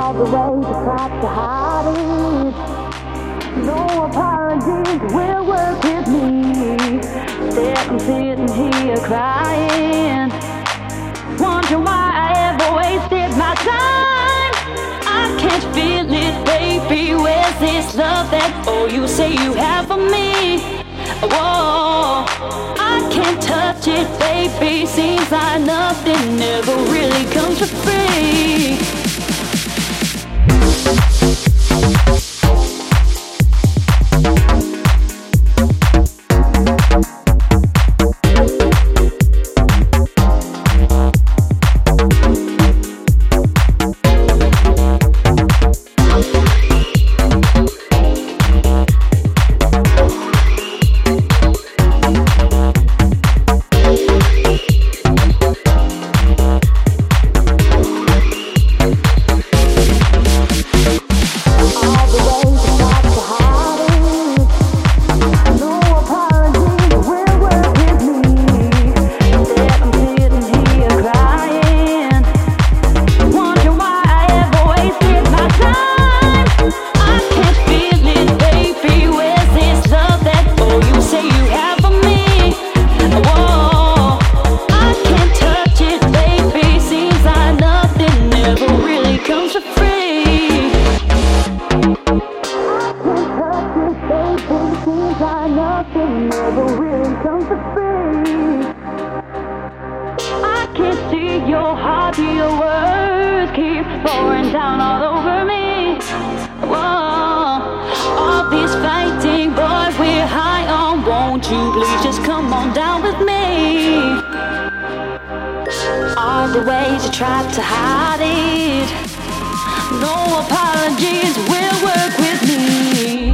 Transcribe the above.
all the way to try to hide it. No apologies will work with me. Instead I'm sitting here crying, wondering why I ever wasted my time. I can't feel it, baby. Where's this love that you say you have for me? Whoa, I can't touch it, baby. Seems like nothing ever really comes for free. Try to hide it. No apologies will work with me.